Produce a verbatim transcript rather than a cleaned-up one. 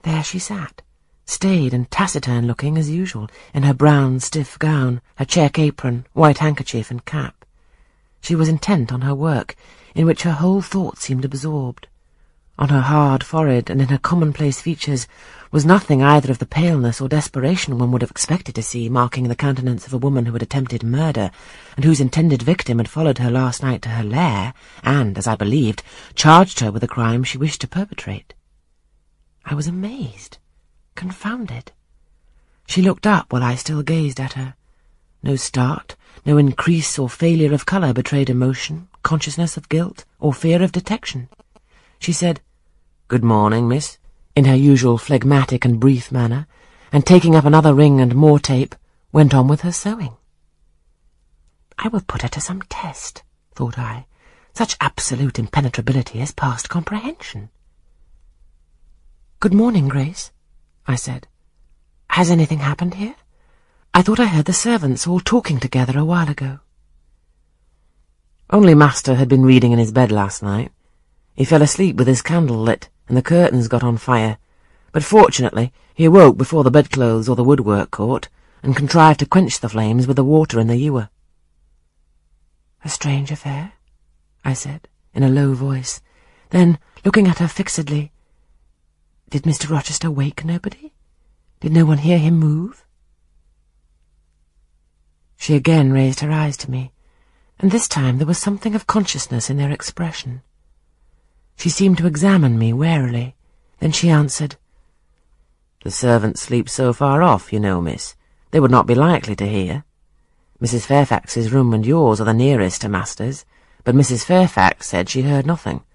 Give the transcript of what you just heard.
There she sat, staid and taciturn-looking as usual, in her brown, stiff gown, her check apron, white handkerchief and cap. She was intent on her work, in which her whole thought seemed absorbed. On her hard forehead and in her commonplace features was nothing either of the paleness or desperation one would have expected to see marking the countenance of a woman who had attempted murder, and whose intended victim had followed her last night to her lair, and, as I believed, charged her with a crime she wished to perpetrate. I was amazed, confounded. She looked up while I still gazed at her. No start, no increase or failure of colour betrayed emotion, consciousness of guilt, or fear of detection. She said, "Good morning, miss," in her usual phlegmatic and brief manner, and taking up another ring and more tape, went on with her sewing. I will put her to some test, thought I. Such absolute impenetrability is past comprehension. "Good morning, Grace," I said. "Has anything happened here? I thought I heard the servants all talking together a while ago." "Only master had been reading in his bed last night. He fell asleep with his candle lit, and the curtains got on fire, but fortunately he awoke before the bedclothes or the woodwork caught, and contrived to quench the flames with the water in the ewer." "A strange affair," I said, in a low voice. Then, looking at her fixedly, "Did Mister Rochester wake nobody? Did no one hear him move?" She again raised her eyes to me, and this time there was something of consciousness in their expression. She seemed to examine me warily. Then she answered, "The servants sleep so far off, you know, miss, they would not be likely to hear. Missus Fairfax's room and yours are the nearest to master's, but Missus Fairfax said she heard nothing,